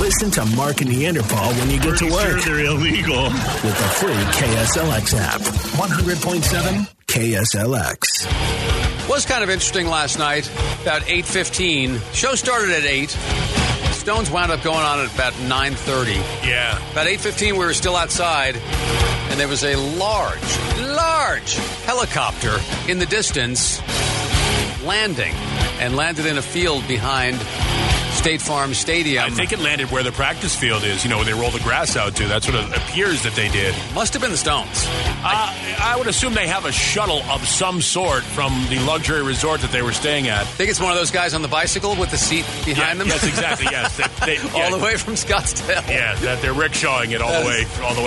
Listen to Mark and Neanderthal when you get to work. Sure they're illegal. With the free KSLX app. 100.7 KSLX. Was kind of interesting last night, about 8:15. Show started at 8. Stones wound up going on at about 9:30. Yeah. About 8:15, we were still outside, and there was a large helicopter in the distance landed in a field behind State Farm Stadium. I think it landed where the practice field is, where they roll the grass out to. That's what it appears that they did. Must have been the Stones. I would assume they have a shuttle of some sort from the luxury resort that they were staying at. I think it's one of those guys on the bicycle with the seat behind them. Yes, exactly, yes. All the way from Scottsdale. Yeah, that they're rickshawing it all the way.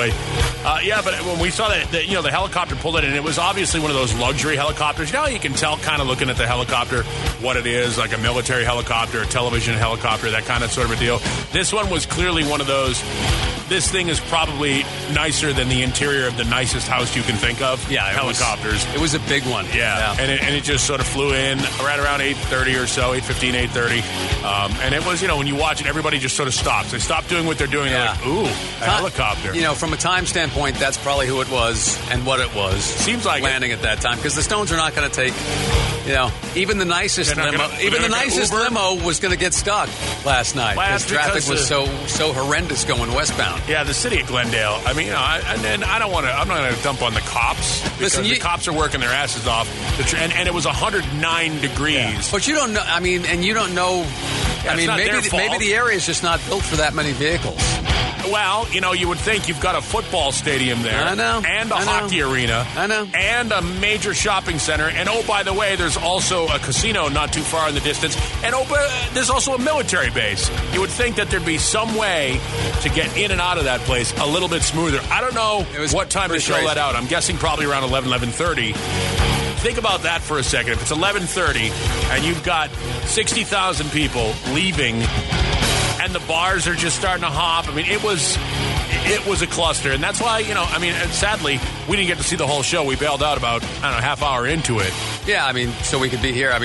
But when we saw that, the helicopter pulled in, and it was obviously one of those luxury helicopters. You can tell kind of looking at the helicopter what it is, like a military helicopter, a television helicopter, that kind of sort of a deal. This one was clearly one of those. This thing is probably nicer than the interior of the nicest house you can think of. Yeah, helicopters. It was a big one. Yeah. And it just sort of flew in right around 8:30 or so, 8:15, 8:30. And it was, when you watch it, everybody just sort of stops. They stop doing what they're doing. Yeah. They're like, ooh, a helicopter. From a time standpoint, that's probably who it was and what it was. Seems like landing at that time, because the Stones are not going to take, even the nicest limo. Even the nicest limo was going to get stuck last night because traffic was so horrendous going westbound. Yeah, the city of Glendale. I mean, I'm not going to dump on the cops because the cops are working their asses off. And it was 109 degrees. Yeah. But you don't know. I mean, and you don't know. Yeah, maybe the area is just not built for that many vehicles. Well, you would think you've got a football stadium there. I know. And a hockey arena. I know. And a major shopping center. And, by the way, there's also a casino not too far in the distance. And, there's also a military base. You would think that there'd be some way to get in and out of that place a little bit smoother. I don't know what time to show that out. I'm guessing probably around 11:30. Think about that for a second. If it's 11:30 and you've got 60,000 people leaving and the bars are just starting to hop. I mean, it was a cluster. And that's why, sadly, we didn't get to see the whole show. We bailed out about, half hour into it. Yeah, so we could be here.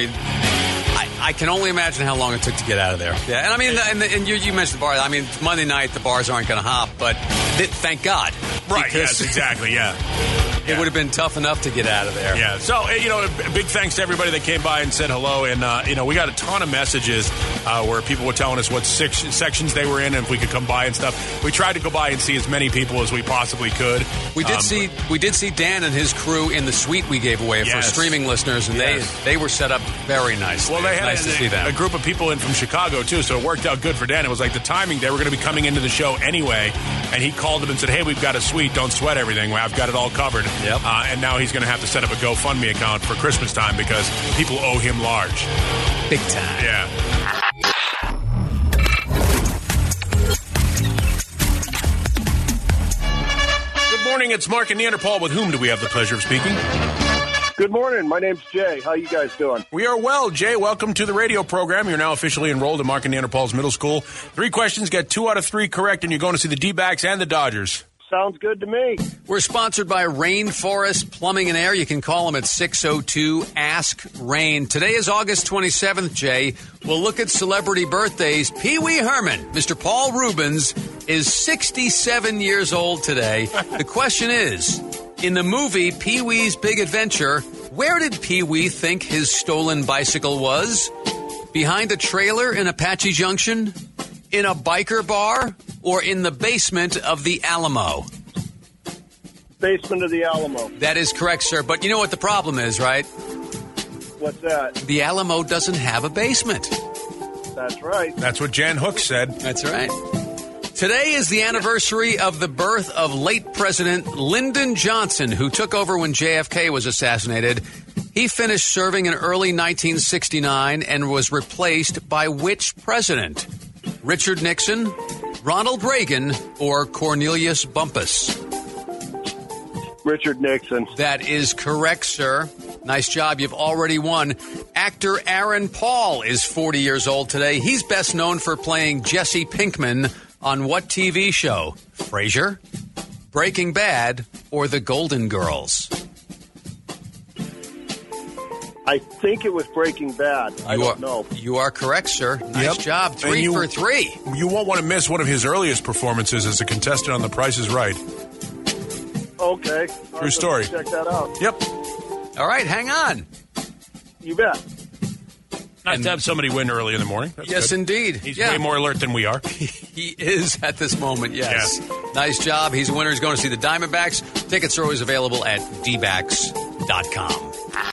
I can only imagine how long it took to get out of there. Yeah, and you mentioned the bar. Monday night, the bars aren't going to hop, but thank God. Right, yes, exactly, yeah. It would have been tough enough to get out of there. Yeah. So, big thanks to everybody that came by and said hello. And, we got a ton of messages where people were telling us what sections they were in and if we could come by and stuff. We tried to go by and see as many people as we possibly could. We did see Dan and his crew in the suite we gave away for streaming listeners, and they were set up very nicely. Well, they had nice to see them. A group of people in from Chicago, too, so it worked out good for Dan. It was like the timing. They were going to be coming into the show anyway, and he called them and said, hey, we've got a suite. Don't sweat everything. I've got it all covered. Yep. And now he's going to have to set up a GoFundMe account for Christmas time because people owe him large. Big time. Yeah. Good morning. It's Mark and Neanderthal. With whom do we have the pleasure of speaking? Good morning. My name's Jay. How you guys doing? We are well. Jay, welcome to the radio program. You're now officially enrolled at Mark and Neanderthal's Middle School. 3 questions, get 2 out of 3 correct, and you're going to see the D-backs and the Dodgers. Sounds good to me. We're sponsored by Rainforest Plumbing and Air. You can call them at 602-ASK-RAIN. Today is August 27th, Jay. We'll look at celebrity birthdays. Pee Wee Herman, Mr. Paul Reubens, is 67 years old today. The question is, in the movie Pee-wee's Big Adventure, where did Pee-wee think his stolen bicycle was? Behind a trailer in Apache Junction? In a biker bar? Or in the basement of the Alamo? Basement of the Alamo. That is correct, sir. But you know what the problem is, right? What's that? The Alamo doesn't have a basement. That's right. That's what Jan Hooks said. That's right. Today is the anniversary of the birth of late President Lyndon Johnson, who took over when JFK was assassinated. He finished serving in early 1969 and was replaced by which president? Richard Nixon, Ronald Reagan, or Cornelius Bumpus? Richard Nixon. That is correct, sir. Nice job. You've already won. Actor Aaron Paul is 40 years old today. He's best known for playing Jesse Pinkman on what TV show? Frasier, Breaking Bad, or The Golden Girls? I think it was Breaking Bad. I don't know. You are correct, sir. Nice job. 3 for 3. You won't want to miss one of his earliest performances as a contestant on The Price is Right. Okay. True story. Check that out. Yep. All right, hang on. You bet. Nice to have somebody win early in the morning. That's yes, good. Indeed. He's way more alert than we are. He is at this moment, yes. Nice job. He's a winner. He's going to see the Diamondbacks. Tickets are always available at dbacks.com.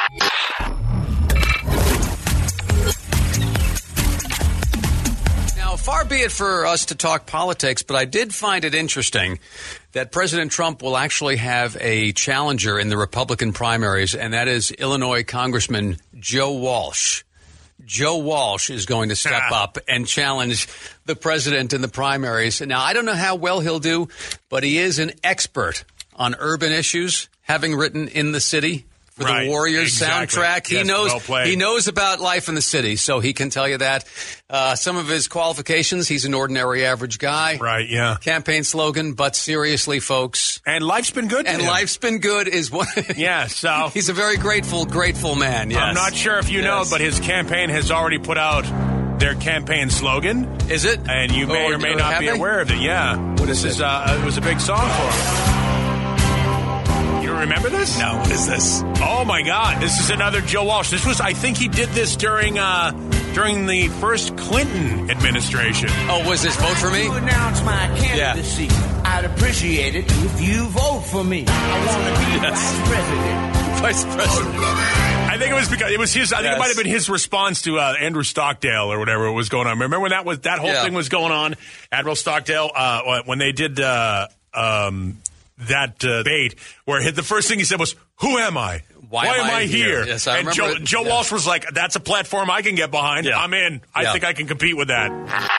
Now, far be it for us to talk politics, but I did find it interesting that President Trump will actually have a challenger in the Republican primaries, and that is Illinois Congressman Joe Walsh. Joe Walsh is going to step up and challenge the president in the primaries. Now, I don't know how well he'll do, but he is an expert on urban issues, having written In the City for the Warriors soundtrack. He knows about life in the city, so he can tell you that. Some of his qualifications, he's an ordinary average guy. Right, yeah. Campaign slogan, but seriously, folks. And life's been good to him. And life's been good is what... Yeah, so... He's a very grateful man, yes. I'm not sure if you know, but his campaign has already put out their campaign slogan. Is it? And you may or may not be aware of it, yeah. What is it? It was a big song for him. You remember this? No, what is this? Oh, my God. This is another Joe Walsh. I think he did this during the first Clinton administration. Oh, was this Vote For Me? To announce my candidacy. Yeah. I'd appreciate it if you vote for me. I want to be Vice President. I think it was because it was his. I think it might have been his response to Andrew Stockdale or whatever was going on. Remember when that whole thing was going on? Admiral Stockdale, when they did that debate, where the first thing he said was, "Who am I? Why am I here?" Yes, I remember. And Joe Walsh was like, "That's a platform I can get behind. Yeah. I'm in. I think I can compete with that."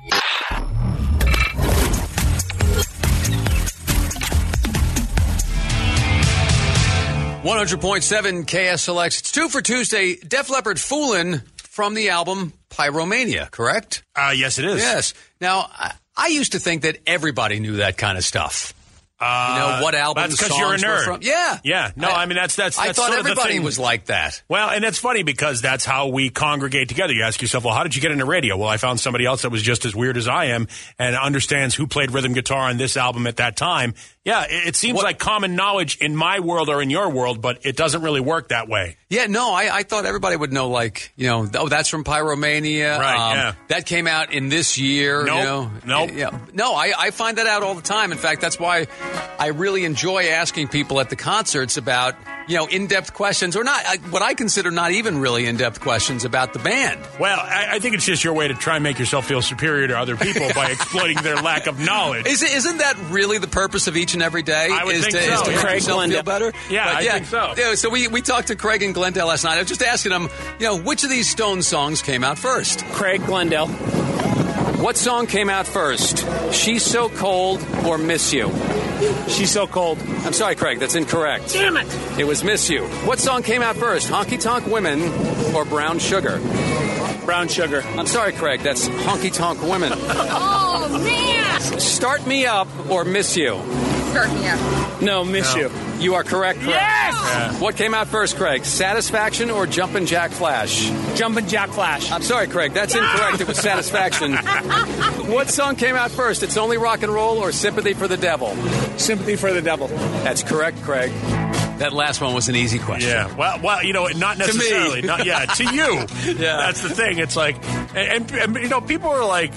100.7 KSLX. It's 2 for Tuesday. Def Leppard Foolin' from the album Pyromania, correct? Yes, it is. Yes. Now, I used to think that everybody knew that kind of stuff. What albums, that's because you're a nerd. From. Yeah. Yeah. No, I mean, that's I thought sort of everybody the thing. was like that. Well, and it's funny because that's how we congregate together. You ask yourself, well, how did you get into radio? Well, I found somebody else that was just as weird as I am and understands who played rhythm guitar on this album at that time. Yeah, it seems like common knowledge in my world or in your world, but it doesn't really work that way. Yeah, no, I thought everybody would know, that's from Pyromania. Right, yeah. That came out in this year. Nope. Yeah. No, I find that out all the time. In fact, that's why I really enjoy asking people at the concerts about, in-depth questions, or not, what I consider not even really in-depth questions about the band. Well, I think it's just your way to try and make yourself feel superior to other people by exploiting their lack of knowledge. Isn't that really the purpose of each and every day? I would think so. Is to make yourself feel better? Yeah, I think so. Yeah, so we talked to Craig in Glendale last night. I was just asking him, which of these Stones songs came out first? Craig, Glendale. What song came out first? She's So Cold or Miss You? She's So Cold. I'm sorry, Craig, that's incorrect. Damn it! It was Miss You. What song came out first? Honky Tonk Women or Brown Sugar? Brown Sugar. I'm sorry, Craig, that's Honky Tonk Women. Oh, man! Start Me Up or Miss You? Start Me Up. No, Miss You. You are correct, Craig. Yes! Yeah. What came out first, Craig? Satisfaction or Jumpin' Jack Flash? Jumpin' Jack Flash. I'm sorry, Craig, that's incorrect. It was Satisfaction. What song came out first? It's Only Rock and Roll or Sympathy for the Devil? Sympathy for the Devil. That's correct, Craig. That last one was an easy question. Yeah. Well, not necessarily. To me. To you. Yeah. That's the thing. It's like, and people are like,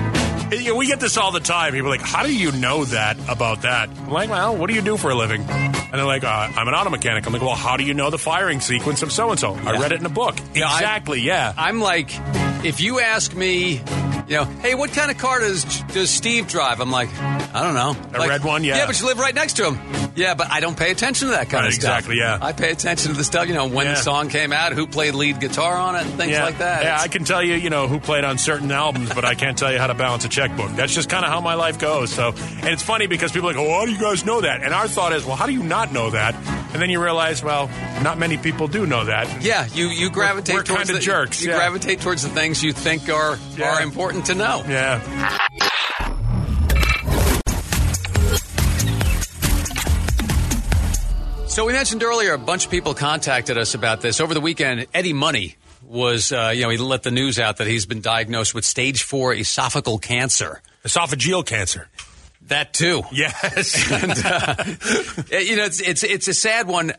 we get this all the time. People are like, how do you know that about that? I'm like, well, what do you do for a living? And they're like, I'm an auto mechanic. I'm like, well, how do you know the firing sequence of so-and-so? I read it in a book. Yeah, exactly, yeah. I'm like, if you ask me, hey, what kind of car does Steve drive? I'm like, I don't know. A red one, yeah. Yeah, but you live right next to him. Yeah, but I don't pay attention to that kind of stuff. Exactly, yeah. I pay attention to the stuff, when the song came out, who played lead guitar on it, and things like that. Yeah, I can tell you, who played on certain albums, but I can't tell you how to balance a checkbook. That's just kind of how my life goes. So, and it's funny because people are like, how do you guys know that? And our thought is, well, how do you not know that? And then you realize, well, not many people do know that. Yeah, you gravitate we're towards kind of jerks. You gravitate towards the things you think are important to know. Yeah. So we mentioned earlier a bunch of people contacted us about this. Over the weekend, Eddie Money was, he let the news out that he's been diagnosed with stage 4 esophageal cancer. Esophageal cancer. That too. Yes. And, it's a sad one,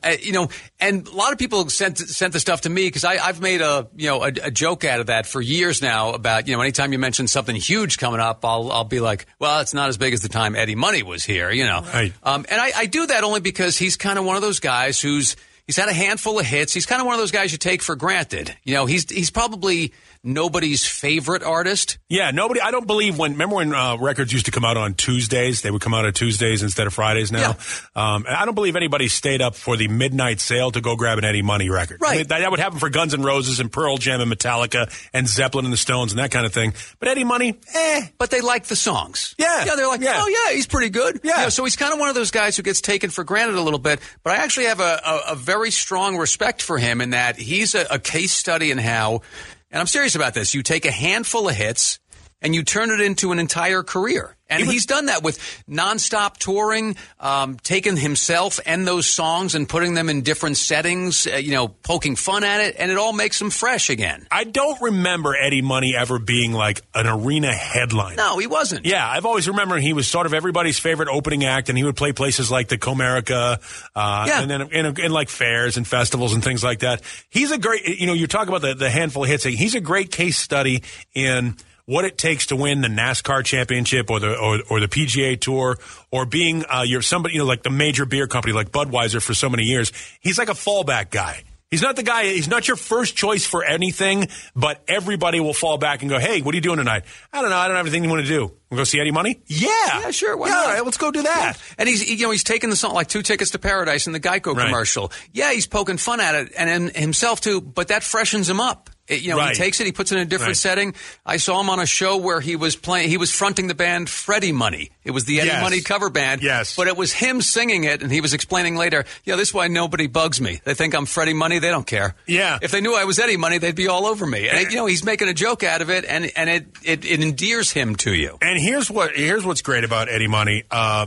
and a lot of people sent the stuff to me because I've made a joke out of that for years now about, anytime you mention something huge coming up, I'll be like, well, it's not as big as the time Eddie Money was here, Right. And I do that only because he's kind of one of those guys he's had a handful of hits. He's kind of one of those guys you take for granted. He's probably nobody's favorite artist. Yeah, nobody. I don't believe remember when records used to come out on Tuesdays? They would come out on Tuesdays instead of Fridays now. Yeah. And I don't believe anybody stayed up for the midnight sale to go grab an Eddie Money record. Right. I mean, that would happen for Guns N' Roses and Pearl Jam and Metallica and Zeppelin and the Stones and that kind of thing. But Eddie Money, But they like the songs. Yeah. Yeah, they're like, oh, yeah, he's pretty good. Yeah. So he's kind of one of those guys who gets taken for granted a little bit. But I actually have a very strong respect for him in that he's a case study in how, and I'm serious about this, you take a handful of hits and you turn it into an entire career. And he's done that with nonstop touring, taking himself and those songs and putting them in different settings, poking fun at it, and it all makes them fresh again. I don't remember Eddie Money ever being like an arena headliner. No, he wasn't. Yeah, I've always remembered he was sort of everybody's favorite opening act, and he would play places like the Comerica, and then in like fairs and festivals and things like that. He's a great, you talk about the handful of hits. He's a great case study in what it takes to win the NASCAR championship or the PGA Tour, or being you're somebody, like the major beer company like Budweiser for so many years. He's like a fallback guy. He's not the guy, he's not your first choice for anything, but everybody will fall back and go, hey, what are you doing tonight? I don't know. I don't have anything you want to do. We'll go see Eddie Money? Yeah, sure. Why not? All right, let's go do that. Yeah. And he's taking the song like 2 Tickets to Paradise in the Geico commercial. Yeah, he's poking fun at it and himself too, but that freshens him up. He takes it, he puts it in a different setting. I saw him on a show where he was fronting the band Freddie Money. It was the Eddie Money cover band. Yes. But it was him singing it, and he was explaining later, this is why nobody bugs me. They think I'm Freddie Money, they don't care. Yeah. If they knew I was Eddie Money, they'd be all over me. And he's making a joke out of it, and it endears him to you. And here's what's great about Eddie Money.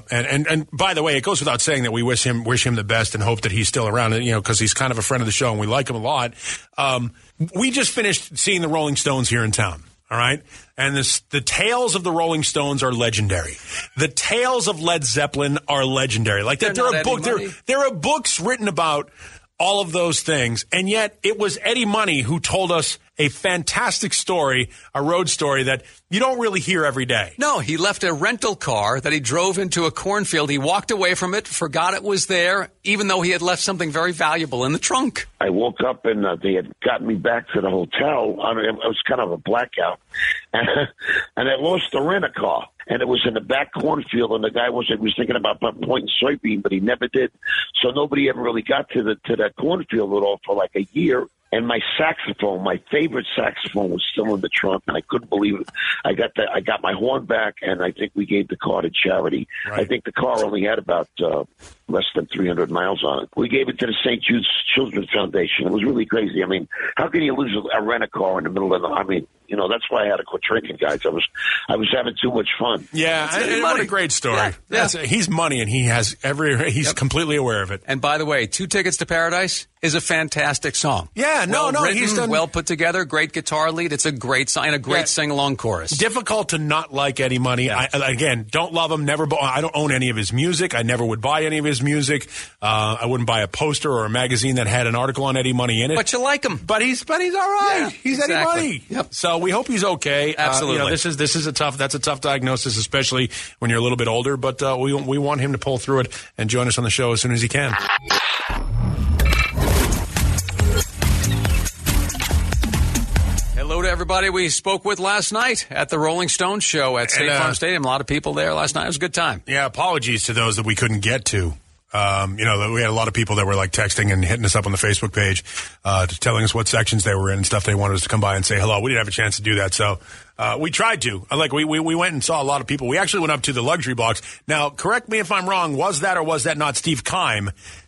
And by the way, it goes without saying that we wish him the best and hope that he's still around, because he's kind of a friend of the show and we like him a lot. We just finished seeing the Rolling Stones here in town, all right? And the tales of the Rolling Stones are legendary. The tales of Led Zeppelin are legendary. Like there are books written about all of those things, and yet it was Eddie Money who told us a fantastic story, a road story that you don't really hear every day. No, he left a rental car that he drove into a cornfield. He walked away from it, forgot it was there, even though he had left something very valuable in the trunk. I woke up and they had gotten me back to the hotel. I mean, it was kind of a blackout. And I lost the rent-a-car. And it was in the back cornfield, and the guy was thinking about pointing soybean, but he never did. So nobody ever really got to that cornfield at all for like a year. And my saxophone, my favorite saxophone, was still in the trunk, and I couldn't believe it. I got my horn back, and I think we gave the car to charity. Right. I think the car only had about less than 300 miles on it. We gave it to the St. Jude's Children's Foundation. It was really crazy. I mean, how can you lose a rent-a-car in the middle of the? I mean, that's why I had to quit drinking, guys. I was having too much fun. Yeah, and what a great story. Yeah. He's Money, and he's completely aware of it. And by the way, 2 Tickets to Paradise is a fantastic song. Yeah, he's done well put together, great guitar lead. It's a great song and a great sing-along chorus. Difficult to not like Eddie Money. Yeah. I don't love him. I don't own any of his music. I never would buy any of his music. I wouldn't buy a poster or a magazine that had an article on Eddie Money in it. But you like him. But he's all right. Yeah, he's Eddie Money. Yep. So we hope he's okay. Absolutely. That's a tough diagnosis, especially when you're a little bit older. But we want him to pull through it and join us on the show as soon as he can. Hello to everybody we spoke with last night at the Rolling Stones show at State Farm Stadium. A lot of people there last night. It was a good time. Yeah, apologies to those that we couldn't get to. We had a lot of people that were like texting and hitting us up on the Facebook page, telling us what sections they were in and stuff. They wanted us to come by and say hello. We didn't have a chance to do that, so we tried to. We went and saw a lot of people. We actually went up to the luxury box. Now, correct me if I'm wrong. Was that or was that not Steve Keim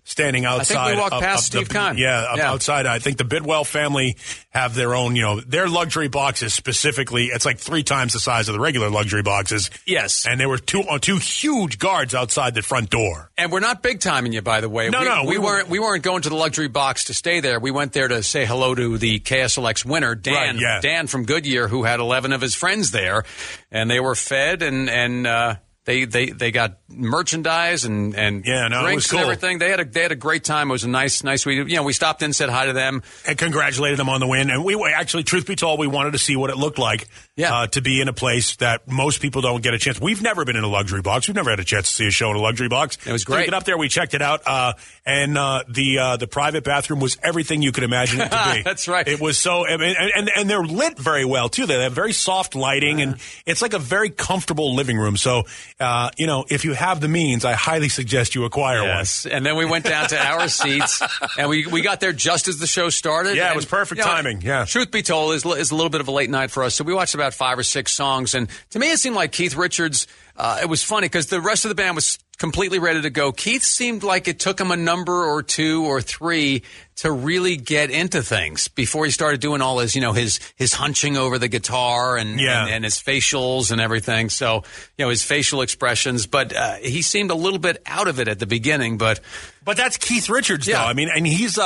standing outside. I think we walked past Steve Kahn. Outside. I think the Bidwell family have their own, their luxury boxes specifically. It's like 3 times the size of the regular luxury boxes. Yes. And there were two huge guards outside the front door. And we're not big timing you, by the way. We weren't going to the luxury box to stay there. We went there to say hello to the KSLX winner, Dan. Right, yeah. Dan from Goodyear, who had 11 of his friends there, and they were fed and They got merchandise and drinks and everything. They had a great time. It was a nice. We stopped in, said hi to them, and congratulated them on the win. And we actually, truth be told, we wanted to see what it looked like to be in a place that most people don't get a chance. We've never been in a luxury box. We've never had a chance to see a show in a luxury box. It was great. We get up there, we checked it out, and the private bathroom was everything you could imagine it to be. That's right. It was so, and they're lit very well too. They have very soft lighting, and it's like a very comfortable living room. So. If you have the means, I highly suggest you acquire one. And then we went down to our seats, and we got there just as the show started. Yeah, it was perfect timing. Yeah. Truth be told, is a little bit of a late night for us. So we watched about 5 or 6 songs, and to me, it seemed like Keith Richards. It was funny because the rest of the band was completely ready to go. Keith seemed like it took him a number or 2 or 3 to really get into things before he started doing all his, his hunching over the guitar and his facials and everything. So, his facial expressions. But he seemed a little bit out of it at the beginning. But that's Keith Richards, though. I mean, and he's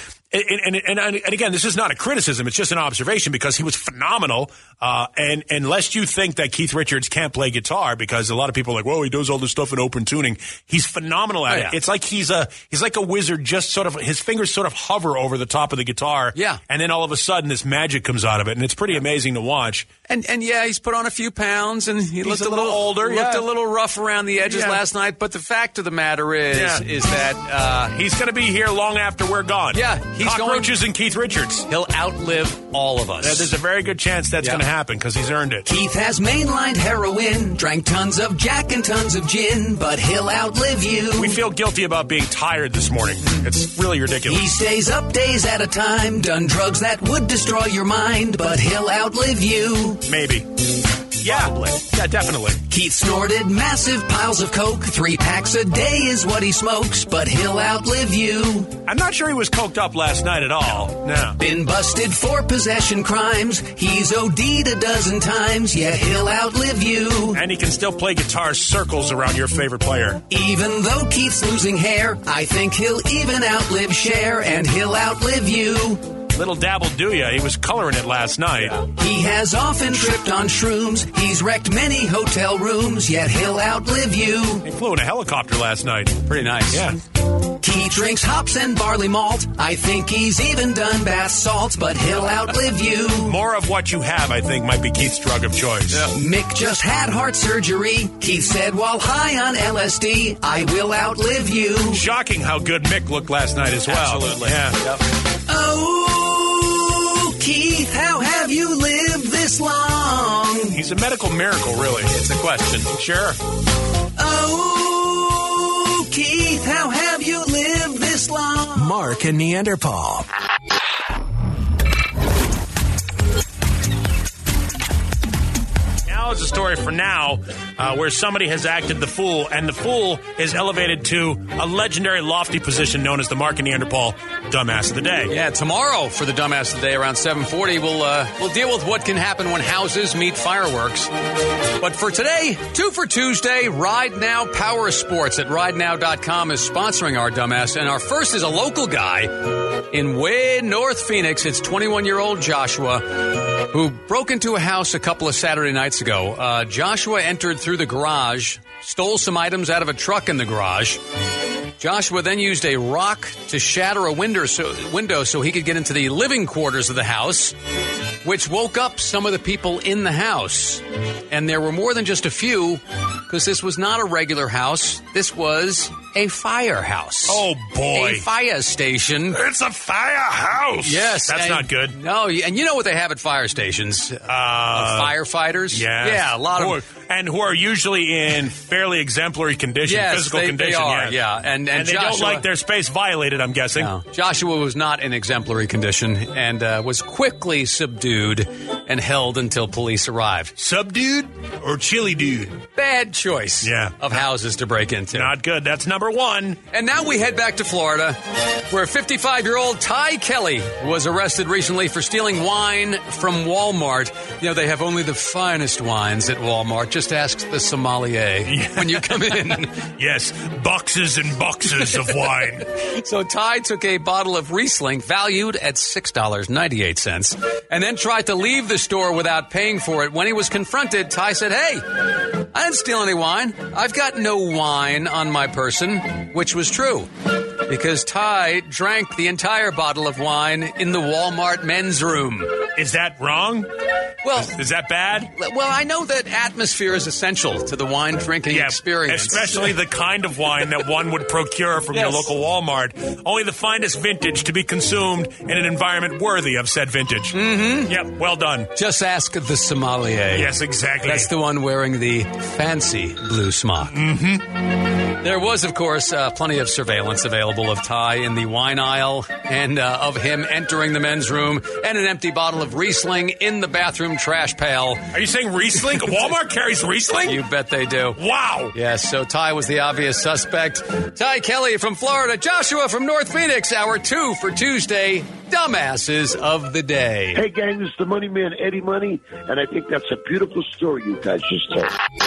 And again, this is not a criticism; it's just an observation because he was phenomenal. And unless you think that Keith Richards can't play guitar, because a lot of people are like, "Whoa, he does all this stuff in open tuning." He's phenomenal at it. It's like he's like a wizard. Just sort of his fingers sort of hover over the top of the guitar, and then all of a sudden this magic comes out of it, and it's pretty amazing to watch. And he's put on a few pounds, and he looked a little older. Looked a little rough around the edges last night. But the fact of the matter is that he's going to be here long after we're gone. Yeah. Cockroaches and Keith Richards. He'll outlive all of us. There's a very good chance that's going to happen because he's earned it. Keith has mainlined heroin, drank tons of Jack and tons of gin, but he'll outlive you. We feel guilty about being tired this morning. It's really ridiculous. He stays up days at a time, done drugs that would destroy your mind, but he'll outlive you. Maybe. Yeah, probably. Yeah, definitely. Keith snorted massive piles of coke. 3 packs a day is what he smokes, but he'll outlive you. I'm not sure he was coked up last night at all. No. Been busted for possession crimes. He's OD'd a dozen times, yet he'll outlive you. And he can still play guitar circles around your favorite player. Even though Keith's losing hair, I think he'll even outlive Cher, and he'll outlive you. Little dabble do ya. He was coloring it last night. He has often tripped on shrooms. He's wrecked many hotel rooms, yet he'll outlive you. He flew in a helicopter last night. Pretty nice. Yeah. Keith drinks hops and barley malt. I think he's even done bath salts, but he'll outlive you. More of what you have, I think, might be Keith's drug of choice. Yeah. Mick just had heart surgery. Keith said while high on LSD, I will outlive you. Shocking how good Mick looked last night as well. Absolutely. Yeah. Yep. Oh, Keith, how have you lived this long? He's a medical miracle, really. It's a question. Sure. Oh, Keith, how have you lived this long? Mark and Neanderthal. Now is a story for now where somebody has acted the fool, and the fool is elevated to a legendary lofty position known as the Mark and Neanderthal Dumbass of the Day. Yeah, tomorrow for the Dumbass of the Day around 7:40, we'll deal with what can happen when houses meet fireworks. But for today, 2 for Tuesday, Ride Now Power Sports at RideNow.com is sponsoring our Dumbass, and our first is a local guy in way North Phoenix. It's 21-year-old Joshua, who broke into a house a couple of Saturday nights ago. Joshua entered through the garage, stole some items out of a truck in the garage. Joshua then used a rock to shatter a window so he could get into the living quarters of the house, which woke up some of the people in the house. And there were more than just a few, because this was not a regular house. This was a firehouse. Oh, boy. A fire station. It's a firehouse. Yes. That's not good. No, and you know what they have at fire stations? Firefighters. Yes. Yeah, a lot of and who are usually in fairly exemplary condition, physical condition. They are, yeah. And they Joshua, don't like their space violated, I'm guessing. No. Joshua was not in exemplary condition and was quickly subdued and held until police arrived. Subdued or chili dude? Bad choice of houses to break into. Not good. That's number number one. And now we head back to Florida, where 55-year-old Ty Kelly was arrested recently for stealing wine from Walmart. You know, they have only the finest wines at Walmart. Just ask the sommelier when you come in. Yes, boxes and boxes of wine. So Ty took a bottle of Riesling valued at $6.98 and then tried to leave the store without paying for it. When he was confronted, Ty said, "Hey, I didn't steal any wine. I've got no wine on my person," which was true because Ty drank the entire bottle of wine in the Walmart men's room. Is that wrong? Well, is that bad? Well, I know that atmosphere is essential to the wine drinking experience. Especially the kind of wine that one would procure from your local Walmart. Only the finest vintage to be consumed in an environment worthy of said vintage. Mm-hmm. Yep, well done. Just ask the sommelier. Yes, exactly. That's the one wearing the fancy blue smock. Mm-hmm. There was, of course, plenty of surveillance available of Ty in the wine aisle and of him entering the men's room and an empty bottle of Riesling in the bathroom trash pail. Are you saying Riesling? Walmart carries Riesling? You bet they do. Wow. Yes, so Ty was the obvious suspect. Ty Kelly from Florida, Joshua from North Phoenix, hour 2 for Tuesday, Dumbasses of the Day. Hey, gang, this is the Money Man, Eddie Money, and I think that's a beautiful story you guys just told.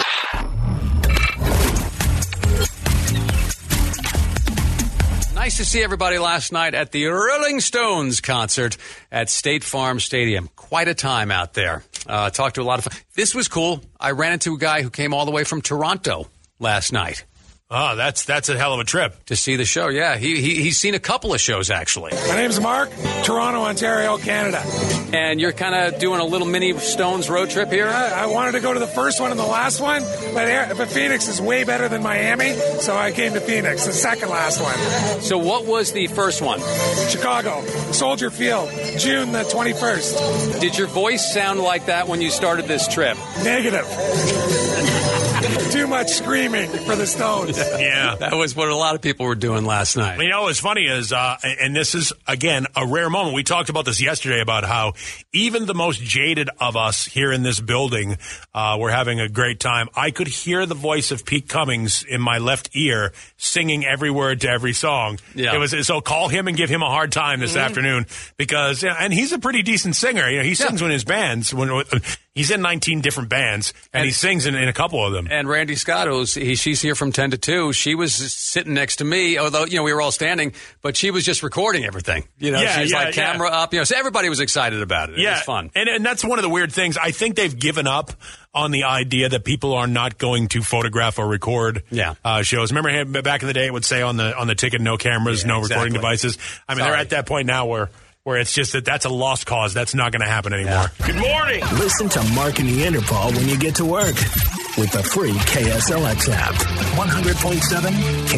Nice to see everybody last night at the Rolling Stones concert at State Farm Stadium. Quite a time out there. Talked to a lot of... This was cool. I ran into a guy who came all the way from Toronto last night. Oh, that's a hell of a trip. To see the show, yeah. He's seen a couple of shows, actually. My name's Mark, Toronto, Ontario, Canada. And you're kind of doing a little mini Stones road trip here? I wanted to go to the first one and the last one, but Phoenix is way better than Miami, so I came to Phoenix, the second last one. So what was the first one? Chicago, Soldier Field, June the 21st. Did your voice sound like that when you started this trip? Negative. Too much screaming for the Stones. Yeah. That was what a lot of people were doing last night. You know, what's funny is, and this is, again, a rare moment. We talked about this yesterday about how even the most jaded of us here in this building were having a great time. I could hear the voice of Pete Cummings in my left ear singing every word to every song. Yeah. It was, so call him and give him a hard time this afternoon because, and he's a pretty decent singer. You know, he sings in his bands. He's in 19 different bands, and he sings in a couple of them. And Randy Scott, she's here from 10 to 2. She was sitting next to me, although, you know, we were all standing, but she was just recording everything. You know, she was camera up, you know, so everybody was excited about it. It was fun. And that's one of the weird things. I think they've given up on the idea that people are not going to photograph or record shows. Remember back in the day, it would say on the ticket, no cameras, no recording devices. I mean, they're at that point now where it's just that's a lost cause. That's not going to happen anymore. Yeah. Good morning. Listen to Mark and Neanderthal when you get to work with the free KSLX app. 100.7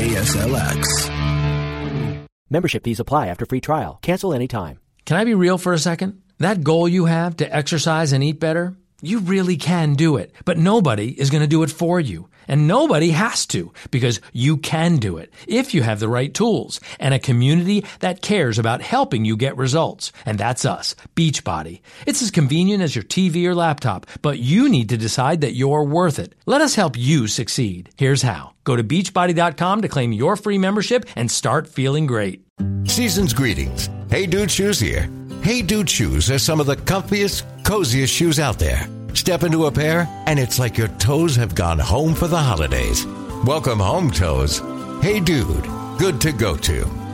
KSLX. Membership fees apply after free trial. Cancel anytime. Can I be real for a second? That goal you have to exercise and eat better, you really can do it. But nobody is going to do it for you. And nobody has to, because you can do it if you have the right tools and a community that cares about helping you get results. And that's us, Beachbody. It's as convenient as your TV or laptop, but you need to decide that you're worth it. Let us help you succeed. Here's how. Go to Beachbody.com to claim your free membership and start feeling great. Season's greetings. Hey Dude Shoes here. Hey Dude Shoes are some of the comfiest, coziest shoes out there. Step into a pair, and it's like your toes have gone home for the holidays. Welcome home, toes. Hey Dude, good to go to.